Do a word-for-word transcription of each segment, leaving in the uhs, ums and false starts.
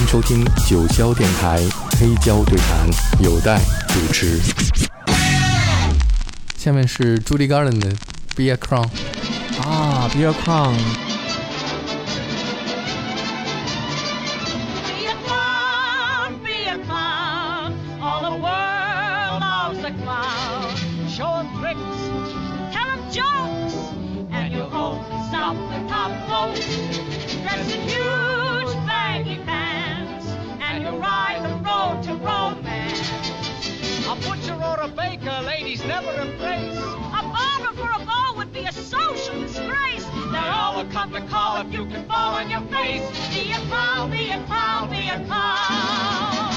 收听九霄电台黑胶对谈，有待主持。下面是 Judy Garland 的 Be a Clown 啊 Be a Clown。 Dressed in huge baggy pants, and you ride the road to romance. A butcher or a baker, ladies never embrace. A barber for a ball would be a social disgrace. They all would come to call if you could fall on your face. Be a clown, be a clown, be a clown.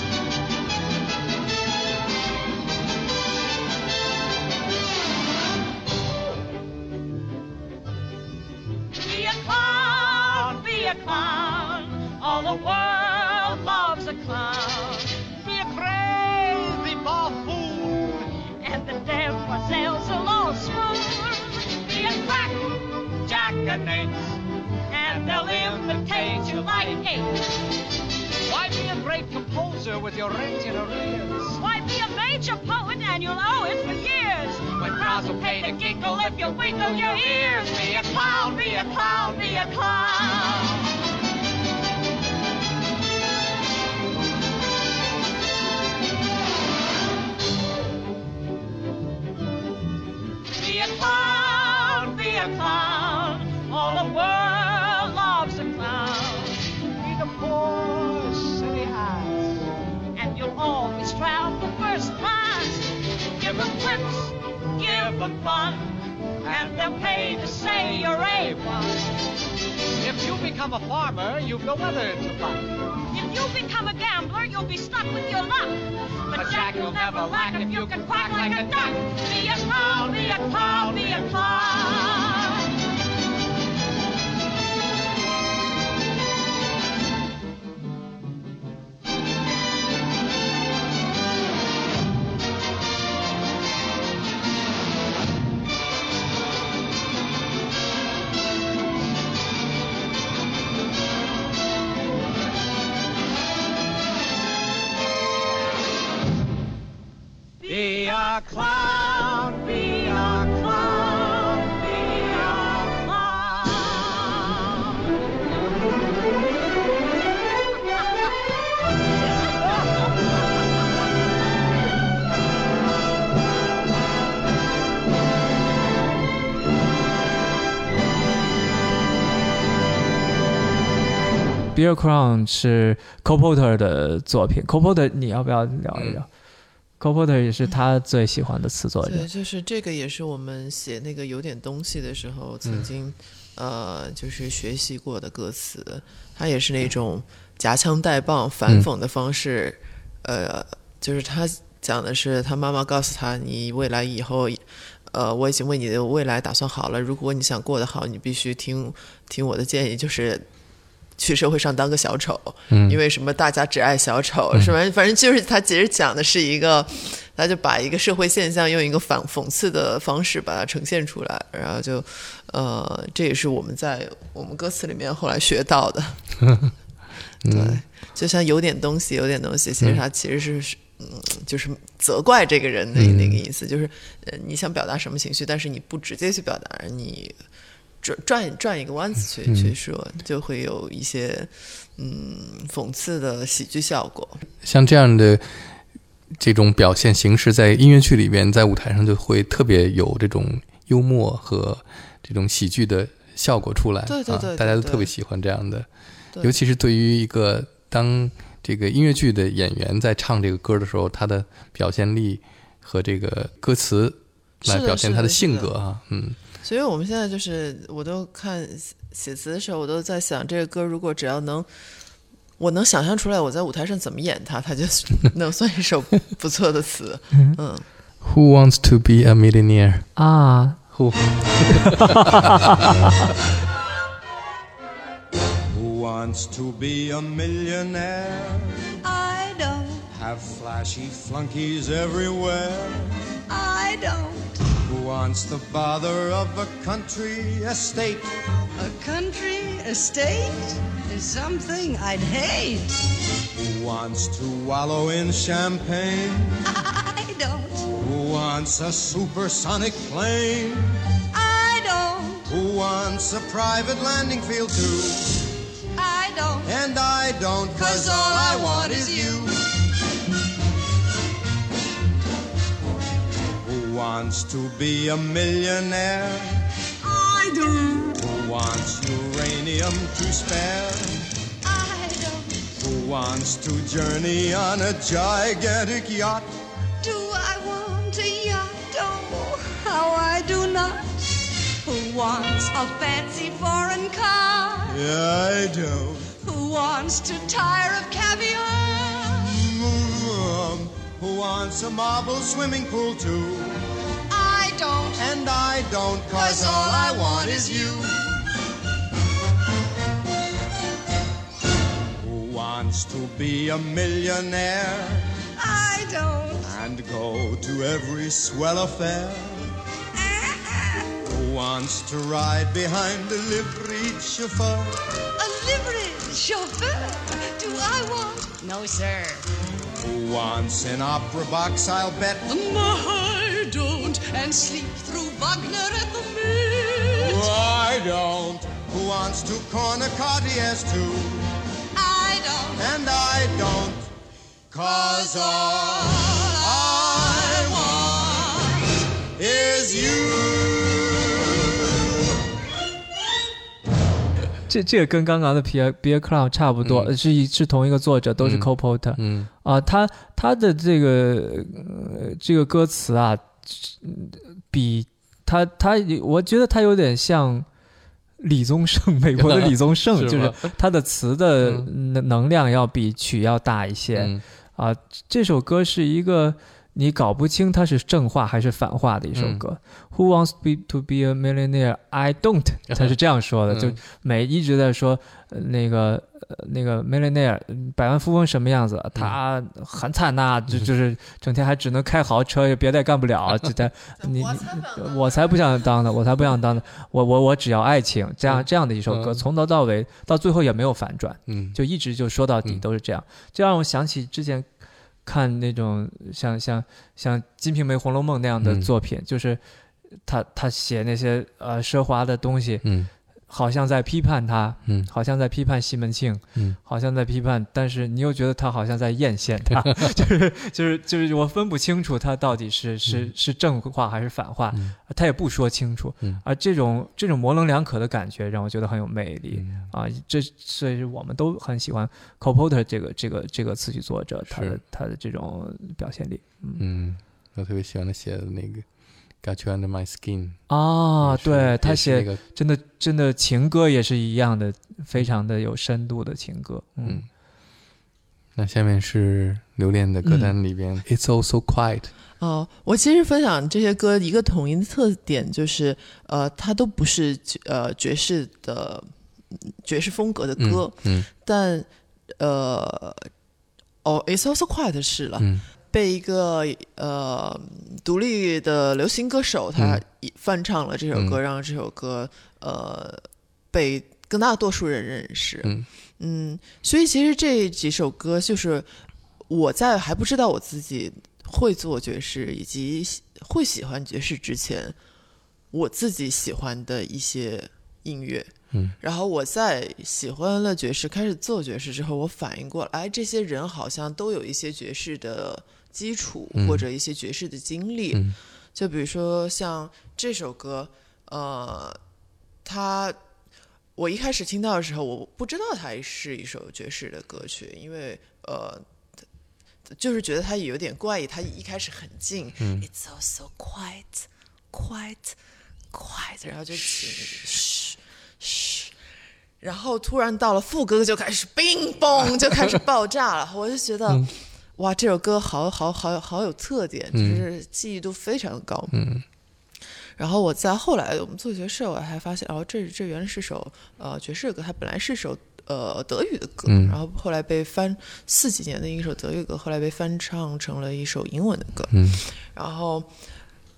Be a clown, be a clown. All the world loves a clown. Be a crazy buffoon, and the demoiselles will all swoon. Be a crack jackanapes, and they'll imitate you like apes. Why be a great composer with your rent in arrears? Why be a major poet and you'll owe it for years? When crowds will pay to giggle if you wiggle your ears. Be a clown, be a clown, be a clown. Be a clown, be a clown. All the world loves a clown. Be the poor city ass, and you'll always travel first class. Give them clips, give them fun, and they'll pay to say you're A one. If you become a farmer, you've no weather to fight. If you become a gambler, you'll be stuck with your luck. But Jack, you'll never lack if you can quack like a duck. Be a clown, be a clown, be a clown. Be a clown, be a clown, be a clown. Be a Clown 是 Cole Porter 的作品。 Cole Porter 你要不要聊一聊？嗯Cole Porter 也是他最喜欢的词作者。 对，就是这个也是我们写那个有点东西的时候曾经、嗯、呃就是学习过的歌词。他也是那种夹枪带棒反讽的方式、嗯、呃就是他讲的是他妈妈告诉他，你未来以后呃我已经为你的未来打算好了，如果你想过得好，你必须听听我的建议，就是去社会上当个小丑、嗯、因为什么大家只爱小丑、嗯、是吧？反正就是他其实讲的是一个，他就把一个社会现象用一个反讽刺的方式把它呈现出来，然后就呃，这也是我们在我们歌词里面后来学到的。嗯、对，就像有点东西有点东西，其实他其实是、嗯、就是责怪这个人的那个意思、嗯、就是呃你想表达什么情绪，但是你不直接去表达，你转转一个弯子去、嗯、去说，就会有一些嗯讽刺的喜剧效果。 像这样的这种表现形式，在音乐剧里边，在舞台上就会特别有这种幽默和这种喜剧的效果出来。 对对 对, 对, 对、啊、 大家都特别喜欢这样的，尤其是对于一个当这个音乐剧的演员在唱这个歌的时候，他的表现力和这个歌词来表现他的性格啊，嗯。 所以我们现在就是我都看写词的时候，我都在想，这个歌如果只要能我能想象出来我在舞台上怎么演它，它就能算一首不错的词。嗯 Who wants to be a millionaire? 啊 Who Who wants to be a millionaire? I don't. Have flashy flunkies everywhere? I don't. Who wants the bother of a country estate? A country estate is something I'd hate. Who wants to wallow in champagne? I don't. Who wants a supersonic plane? I don't. Who wants a private landing field too? I don't. And I don't, 'cause all I want is you. Who wants to be a millionaire? I don't. Who wants uranium to spare? I don't. Who wants to journey on a gigantic yacht? Do I want a yacht? Oh, how I do not. Who wants a fancy foreign car? I don't. Who wants to tire of caviar? Mm, Who wants a marble swimming pool too? I don't. And I don't, 'cause all I want is you. Who wants to be a millionaire I don't. and go to every swell affair? Who wants to ride behind a liveried chauffeur? A liveried chauffeur? Do I want? No, sir. Who wants an opera box, I'll bet? I don't. And sleep through Wagner at the Met. I don't. Who wants to corner Cartiers too? I don't. And I don't, 'cause all I want is you. 这这个跟刚刚的 Beer Beer Clown 差不多， 嗯、 是一是同一个作者，都是 Cole Porter。 嗯啊，他他的这个、呃、这个歌词啊，比他他我觉得他有点像李宗盛，美国的李宗盛， 是就是他的词的能量要比曲要大一些。 嗯、 啊，这首歌是一个你搞不清它是正话还是反话的一首歌。嗯、Who wants to be a millionaire? I don't。他是这样说的，嗯、就每一直在说、呃、那个、呃、那个 millionaire 百万富翁什么样子，他很惨呐、啊，就就是整天还只能开豪车，也别的也干不了。就他你我才不想当的，我才不想当的，我我我只要爱情，这样这样的一首歌，从头到尾到最后也没有反转， 嗯， 就一直就说到底都是这样，这让我想起之前。看那种像像像《金瓶梅》《红楼梦》那样的作品，嗯、就是他他写那些呃奢华的东西， 嗯， 好像在批判他， 嗯， 好像在批判西门庆， 嗯， 好像在批判，但是你又觉得他好像在艳羡他，就是就是就是我分不清楚他到底是是、嗯、是正话还是反话， 嗯、 他也不说清楚， 嗯， 而这种这种模棱两可的感觉让我觉得很有魅力、 嗯、 啊，这所以我们都很喜欢 Cole Porter 这个这个这个词曲作者他的他的这种表现力，嗯， 嗯我特别喜欢他写的那个。Got you under my skin 啊，对他写、 那个、 真的真的情歌也是一样的，非常的有深度的情歌。嗯，嗯那下面是留恋的歌单里边、嗯、，It's all so quiet。 哦，我其实分享这些歌一个统一的特点就是，呃，它都不是呃爵士的爵士风格的歌， 嗯，嗯但呃，哦 ，It's all so quiet 是了。 嗯被一个呃独立的流行歌手他翻唱了这首歌，嗯、让这首歌呃被更大多数人认识。 嗯, 嗯，所以其实这几首歌就是我在还不知道我自己会做爵士以及会喜欢爵士之前，我自己喜欢的一些音乐。 嗯， 然后我在喜欢了爵士开始做爵士之后，我反应过来，这些人好像都有一些爵士的基础、嗯、或者一些爵士的经历、 嗯、 就比如说像这首歌呃，它我一开始听到的时候我不知道它是一首爵士的歌曲，因为呃就是觉得它有点怪异，它一开始很静、 嗯、 It's all so quiet quiet quiet 然后就嘘嘘，然后突然到了副歌就开始冰嘣就开始爆炸了我就觉得、嗯、哇这首歌好好好好有特点，就是记忆度非常高。 嗯， 然后我在后来我们做爵士我还发现哦这这原来是首呃爵士歌，它本来是首呃德语的歌、 嗯、 然后后来被翻四几年的一首德语歌后来被翻唱成了一首英文的歌。 嗯， 然后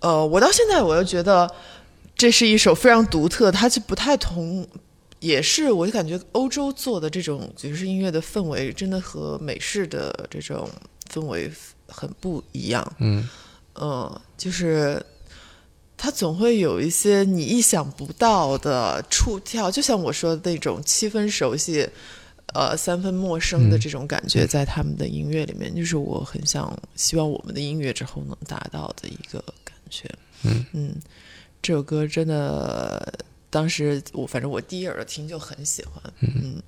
呃，我到现在我又觉得这是一首非常独特，它就不太同，也是我就感觉欧洲做的这种爵士音乐的氛围，真的和美式的这种氛围很不一样。 嗯， 呃，就是它总会有一些你意想不到的触跳，就像我说的那种七分熟悉。呃，三分陌生的这种感觉，在他们的音乐里面，嗯、就是我很想希望我们的音乐之后能达到的一个感觉。 嗯嗯，这首歌真的，当时我反正我第一耳朵听就很喜欢。嗯。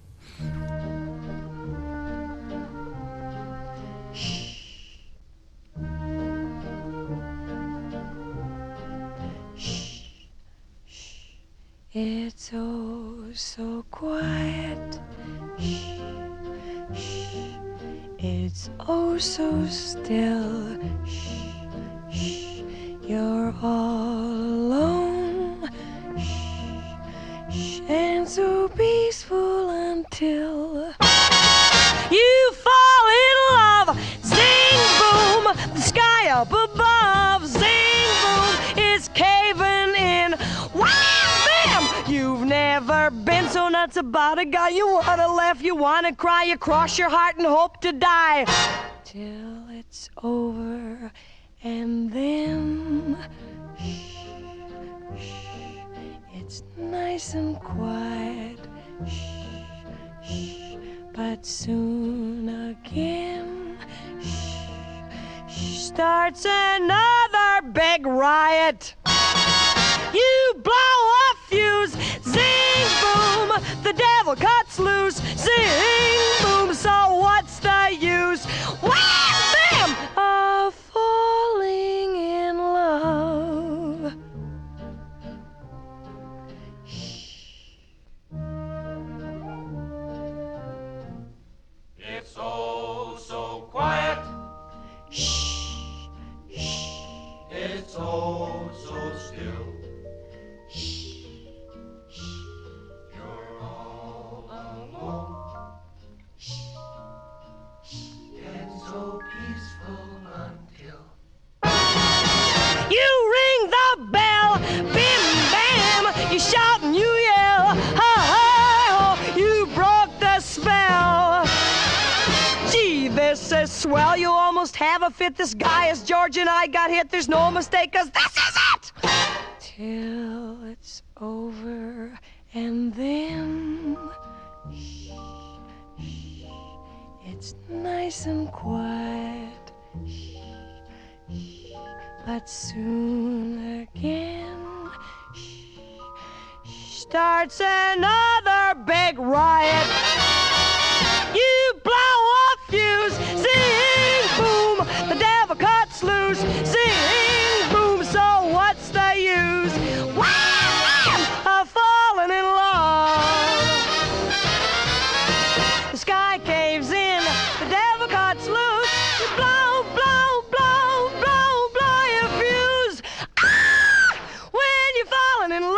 It's oh so quiet. Shh, shh. It's oh so still. Shh, shh. You're all alone. Shh, shh. And so peaceful until you fall in love. Zing boom, the sky up above. Zing boom, it's caving in. Wow! You've never been so nuts about a guy. You wanna laugh, you wanna cry, you cross your heart and hope to die till it's over. And then shh, shh, it's nice and quiet. Shh, shh, but soon again shh, shh, starts another big riot. You blow a fuse, zing boom, the devil cuts loose, zing boom, so what's the use? Wham bam, of falling in love. It's oh so quiet. Shh, shh. It's oh so still. You're all alone. It's so peaceful until You ring the bell, bim bam, you shout and you yell, ha ha ho, you broke the spell. Gee, this is swell, you almost have a fit. This guy is George and I got hit, there's no mistake, cause this is it. Till it's over and then shh, shh, it's nice and quiet. Shh, shh, but soon again shh, shh, starts another big riot. You blow a fuse, zing boom, the devil cuts loose, zing boom, so what's the use? Wham! Of falling in love. The sky caves in, the devil cuts loose, you blow, blow, blow, blow, blow your fuse. Ah! When you're falling in love.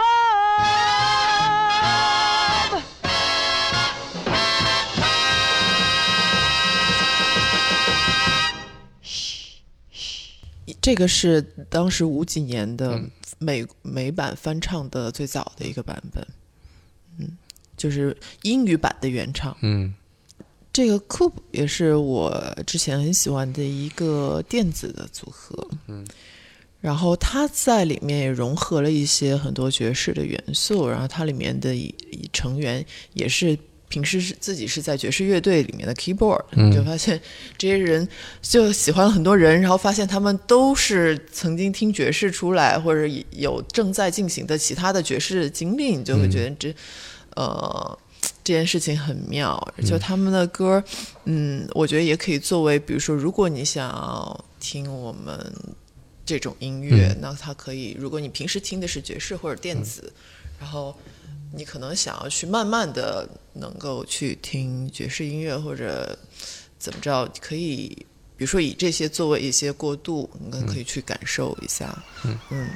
这个是当时五几年的美、美版翻唱的最早的一个版本，嗯，就是英语版的原唱。 嗯， 这个 Coop 也是我之前很喜欢的一个电子的组合， 嗯， 然后它在里面也融合了一些很多爵士的元素，然后它里面的成员也是平时是自己是在爵士乐队里面的 keyboard， 嗯， 你就发现这些人就喜欢了很多人，然后发现他们都是曾经听爵士出来，或者有正在进行的其他的爵士经历，你就会觉得这、嗯、呃这件事情很妙。就他们的歌，嗯，我觉得也可以作为，比如说，如果你想要听我们这种音乐，嗯、那它可以，如果你平时听的是爵士或者电子，嗯、然后你可能想要去慢慢的能够去听爵士音乐，或者怎么着，可以比如说以这些作为一些过渡，你可以去感受一下。嗯嗯。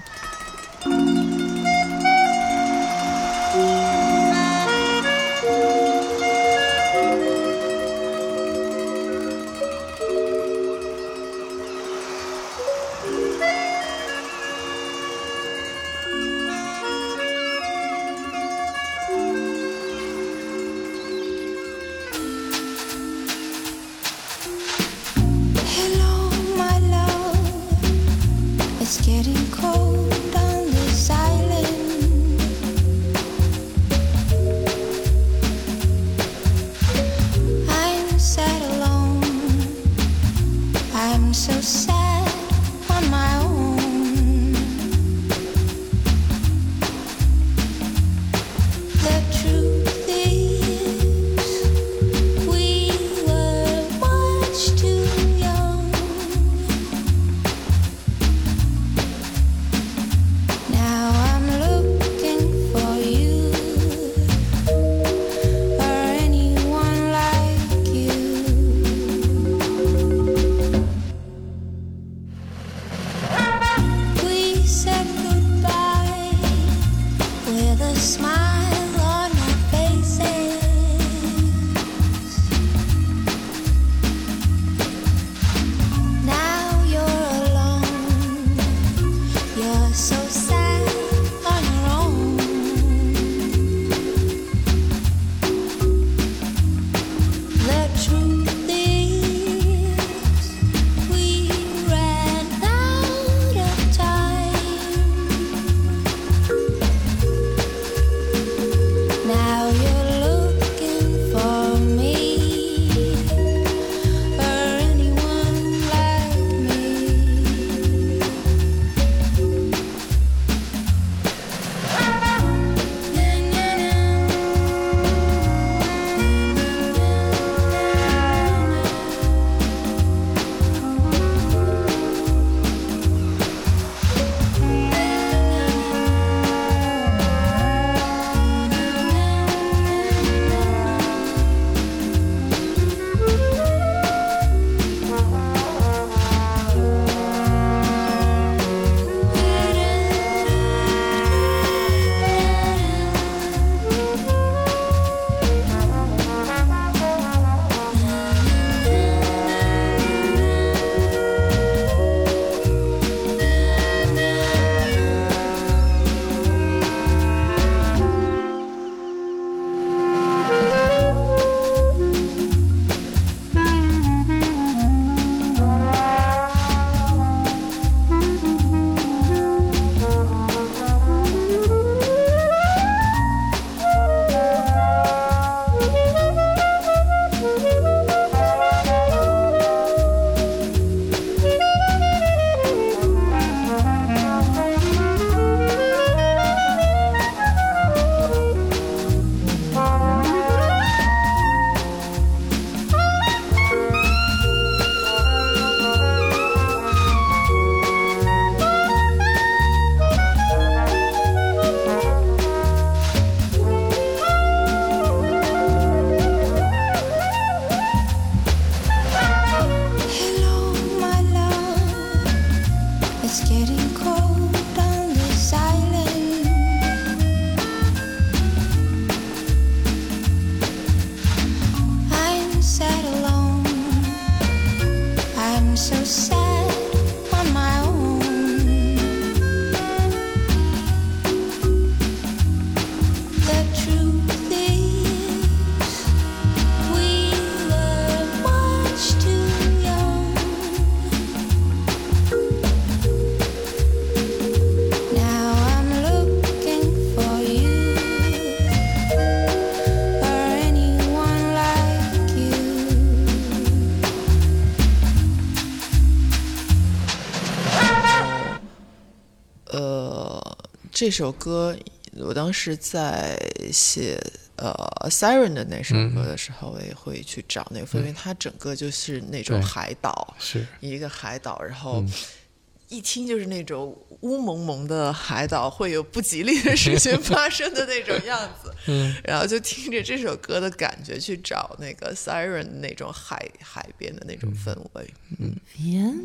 这首歌我当时在写呃 Siren 的那首歌的时候，我也会去找那个氛围，因为它整个就是那种海岛， 是一个海岛，然后一听就是那种乌蒙蒙的海岛会有不吉利的事情发生的那种样子，嗯，然后就听着这首歌的感觉去找那个 Siren 那种海海边的那种氛围。嗯， 嗯，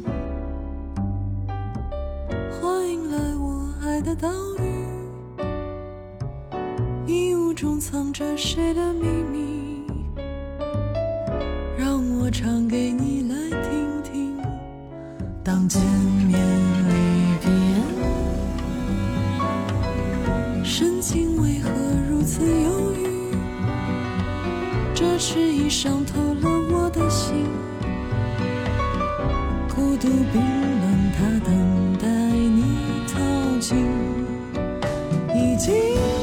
欢迎来我爱的岛屿，迷雾中藏着谁的秘密，让我唱给你来听听。当见面离别，深情为何如此犹豫？这迟疑伤透了我的心，孤独冰冷，它等待你靠近，已经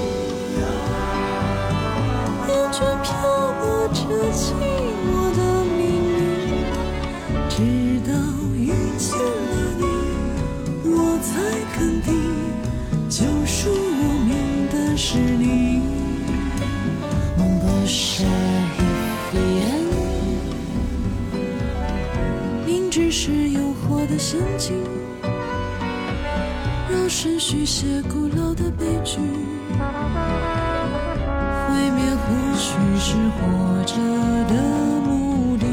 厌倦漂泊着寂寞的命运，直到遇见了你，我才肯定救赎我命的是你。梦不是一眼，明知是诱惑的陷阱，让神续写古老的悲剧，毁灭或许是活着的目的。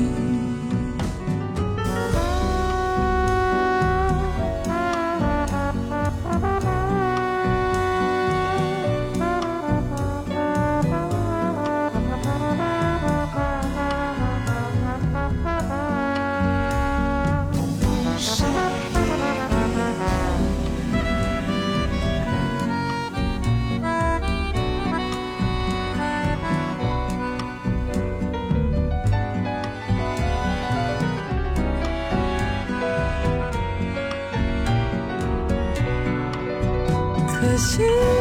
可惜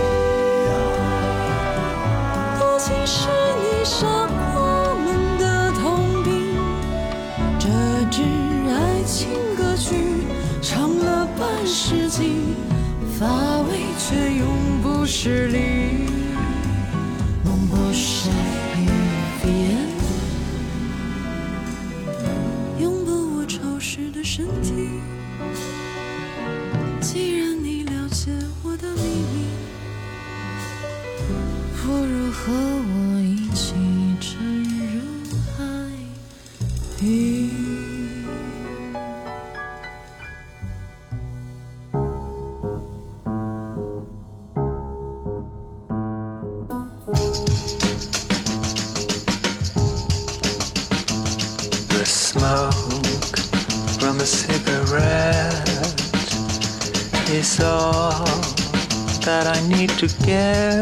多情是你杀我们的通病，这支爱情歌曲唱了半世纪，乏味却永不失礼。梦不是语言，拥抱我潮湿的身体，既然你了解我的秘密，不如和我一起沉入海底。 The smoke from a cigarette is all that I need to get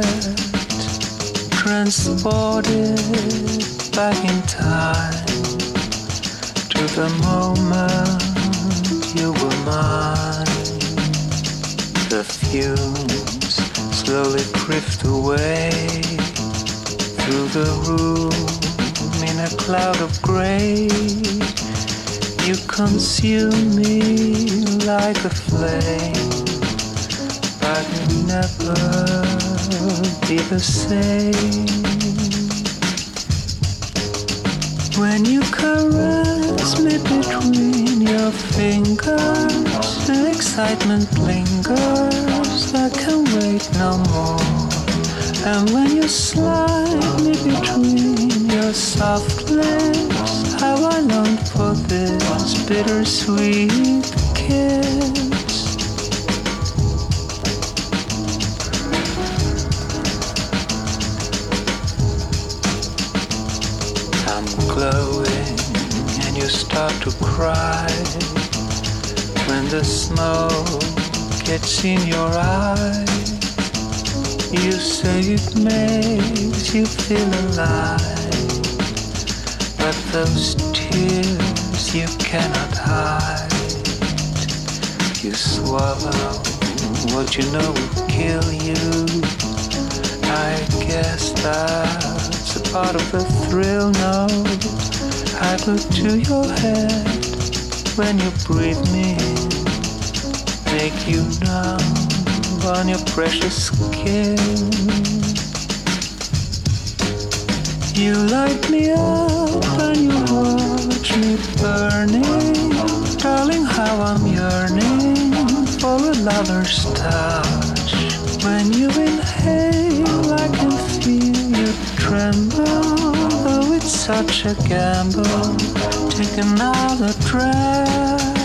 transported back in time to the moment you were mine. The fumes slowly drift away through the room in a cloud of gray. You consume me like a flame, but never be the same. When you caress me between your fingers, the excitement lingers, I can't wait no more. And when you slide me between your soft lips, how I long for this bittersweet kiss. I'm glowing and you start to cry when the smoke gets in your eyes. You say it makes you feel alive, but those tears you cannot hide. You swallow what you know will kill you. I guess that's a part of the thrill, no? I go to your head when you breathe me in, make you numb on your precious skin. You light me up and you watch me burning. Darling, how I'm yearning for a lover's touch. When you inhale, I can feel you tremble. Though it's such a gamble, take another drag.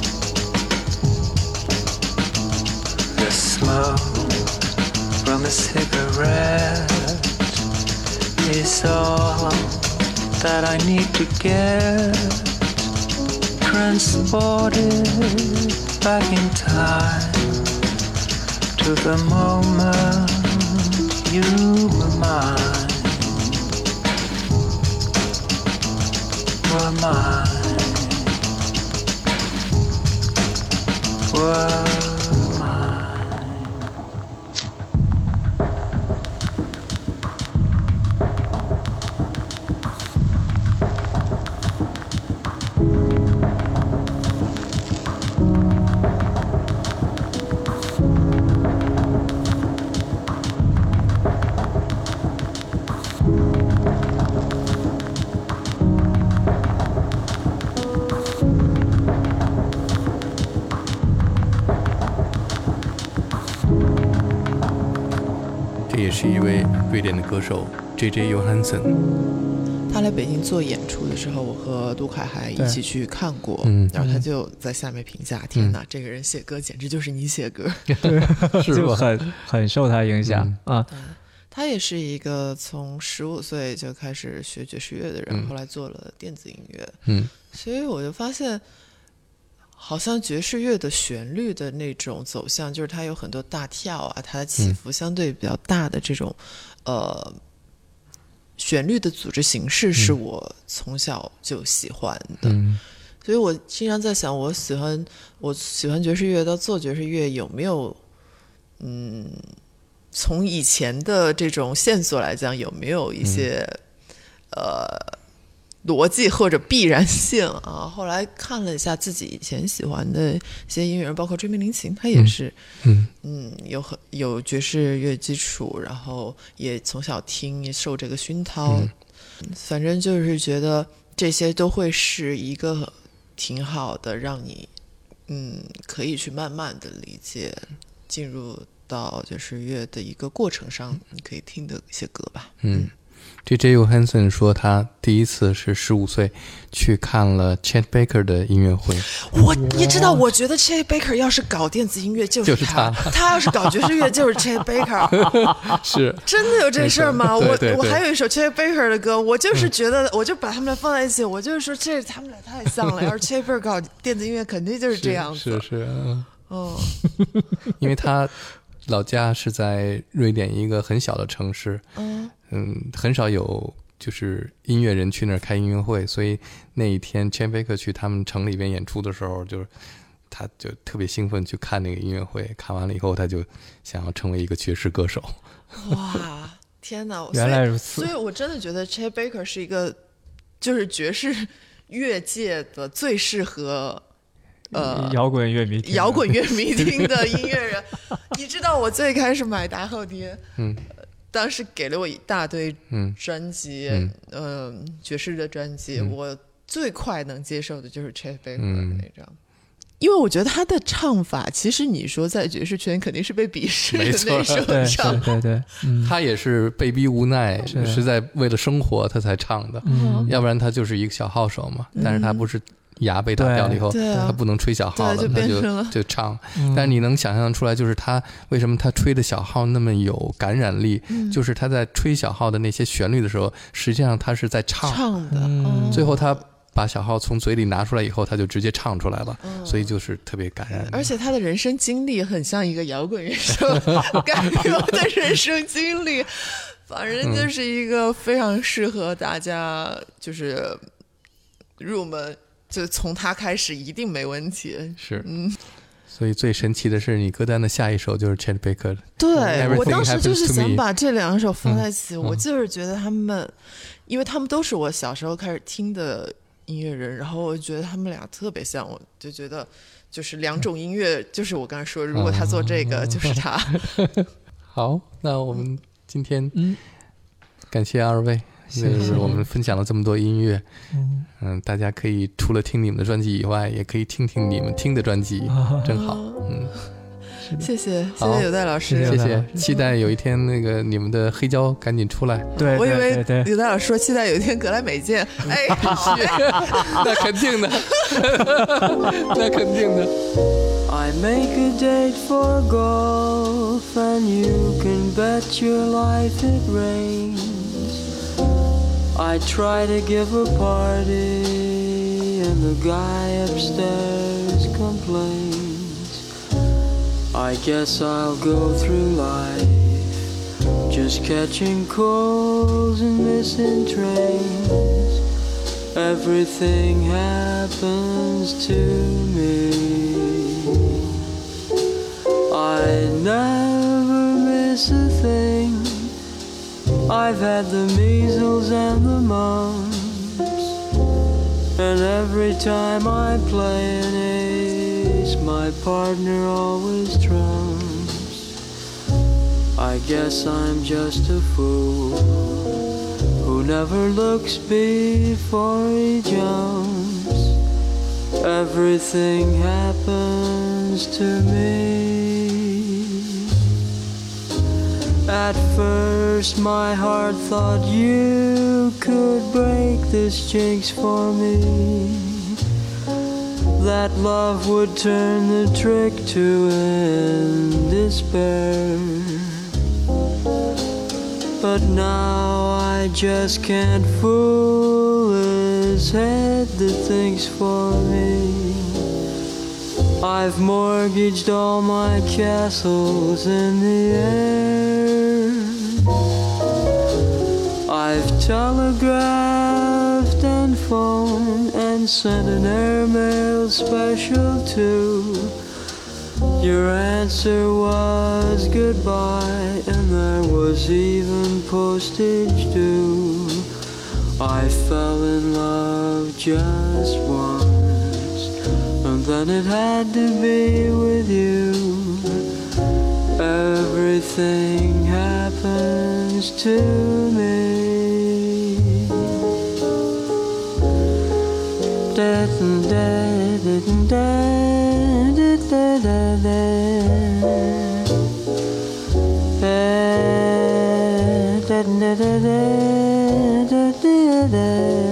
The smoke from a cigarette is all that I need to get transported back in time to the moment you were mine, were mine, were mine. 这也是一位瑞典的歌手 J J Johansson。 他来北京做演出的时候，我和杜凯还一起去看过， 嗯， 然后他就在下面评价：“天哪，这个人写歌简直就是你写歌。” 对，就很很受他影响、嗯、啊。 他也是一个从十五岁就开始学爵士乐的人， 嗯、 后来做了电子音乐， 嗯， 所以我就发现，好像爵士乐的旋律的那种走向，就是它有很多大跳啊，它的起伏相对比较大的这种，嗯、呃。旋律的组织形式是我从小就喜欢的、嗯、所以我经常在想，我喜欢我喜欢爵士乐到做爵士乐有没有嗯，从以前的这种线索来讲，有没有一些、嗯、呃逻辑或者必然性啊？后来看了一下自己以前喜欢的一些音乐人，包括追名林檎，他也是，嗯嗯，有很有爵士乐基础，然后也从小听，也受这个熏陶、嗯，反正就是觉得这些都会是一个挺好的，让你嗯可以去慢慢的理解，进入到爵士乐的一个过程上，你可以听的一些歌吧，嗯。嗯 J J Johansson 说他第一次是十五岁去看了 Chet Baker 的音乐会。 我你知道，我觉得 Chet Baker 要是搞电子音乐就是他， 就是他, 他要是搞爵士乐就是 Chet Baker。 是真的有这事儿吗？ 对对对， 我我还有一首 Chet Baker 的歌，我就是觉得、嗯、我就把他们俩放在一起，我就是说这他们俩太像了。要是 Chet Baker 搞电子音乐，肯定就是这样子。 是是是，嗯， 哦， 因为他老家是在瑞典一个很小的城市，嗯嗯，很少有就是音乐人去那儿开音乐会，所以那一天 Chet Baker 去他们城里边演出的时候，就是他就特别兴奋去看那个音乐会，看完了以后他就想要成为一个爵士歌手。 哇，天哪！ 原来如此。 所以我真的觉得 Chet Baker 是一个就是爵士乐界的最适合呃， 摇滚乐迷听摇滚乐迷听的音乐人。你知道我最开始买大后爹，嗯，当时给了我一大堆专辑，嗯，呃、爵士的专辑、嗯，我最快能接受的就是 Chet Baker 的那张、嗯，因为我觉得他的唱法，其实你说在爵士圈肯定是被鄙视的那首唱， 对对对， 嗯、他也是被逼无奈，是在为了生活他才唱的，嗯、要不然他就是一个小号手嘛，嗯、但是他不是。牙被打掉了以后，他不能吹小号了， 就他就就唱、嗯。但是你能想象出来，就是他为什么他吹的小号那么有感染力、嗯？就是他在吹小号的那些旋律的时候，实际上他是在唱唱的、嗯。 最后他把小号从嘴里拿出来以后，他就直接唱出来了，嗯、所以就是特别感染。 而且他的人生经历很像一个摇滚乐手该有的人生经历，反正就是一个非常适合大家就是入门。就从他开始一定没问题， 是，嗯，所以最神奇的是，你歌单的下一首就是 Chet Baker 的。 对，我当时就是想把这两首放在一起， 嗯、 我就是觉得他们、嗯，因为他们都是我小时候开始听的音乐人，然后我觉得他们俩特别像，我就觉得就是两种音乐，就是我刚才说，如果他做这个，就是他。 好，那我们今天嗯， 感谢二位，就是我们分享了这么多音乐， 嗯嗯，大家可以除了听你们的专辑以外，也可以听听你们听的专辑，真好，嗯。 谢谢，谢好谢有代老师， 谢谢谢谢， 期待有一天那个你们的黑胶赶紧出来。 对， 我以为对对对， 有代老师说期待有一天格莱美见，哎，好那肯定的，那肯定的。 I make a date for golf, and you can bet your life it rains. I try to give a party, and the guy upstairs complains. I guess I'll go through life just catching calls and missing trains. Everything happens to me. I never miss a thing. I've had the measles and the mumps, and every time I play an ace, my partner always trumps. I guess I'm just a fool who never looks before he jumps. Everything happens to me. At first my heart thought you could break this jinx for me, that love would turn the trick to end despair. But now I just can't fool his head that thinks for me. I've mortgaged all my castles in the air. I've telegraphed and phoned and sent an airmail special too. Your answer was goodbye, and there was even postage due. I fell in love just once, and then it had to be with you. Everything happens to me. Da da da da da da da. Da da da da da da da.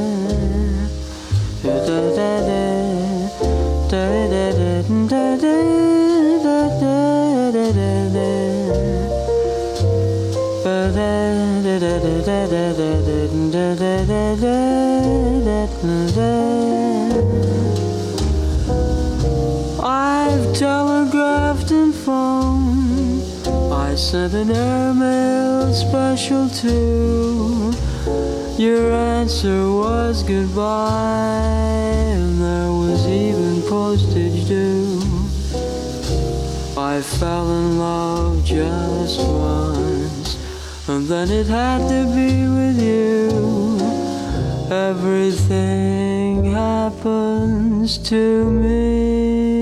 Da da da da da da da da. I've telegraphed and phoned, I sent an airmail special too. Your answer was goodbye, and there was even postage due. I fell in love just once, and then it had to be with you. Everything happens to me.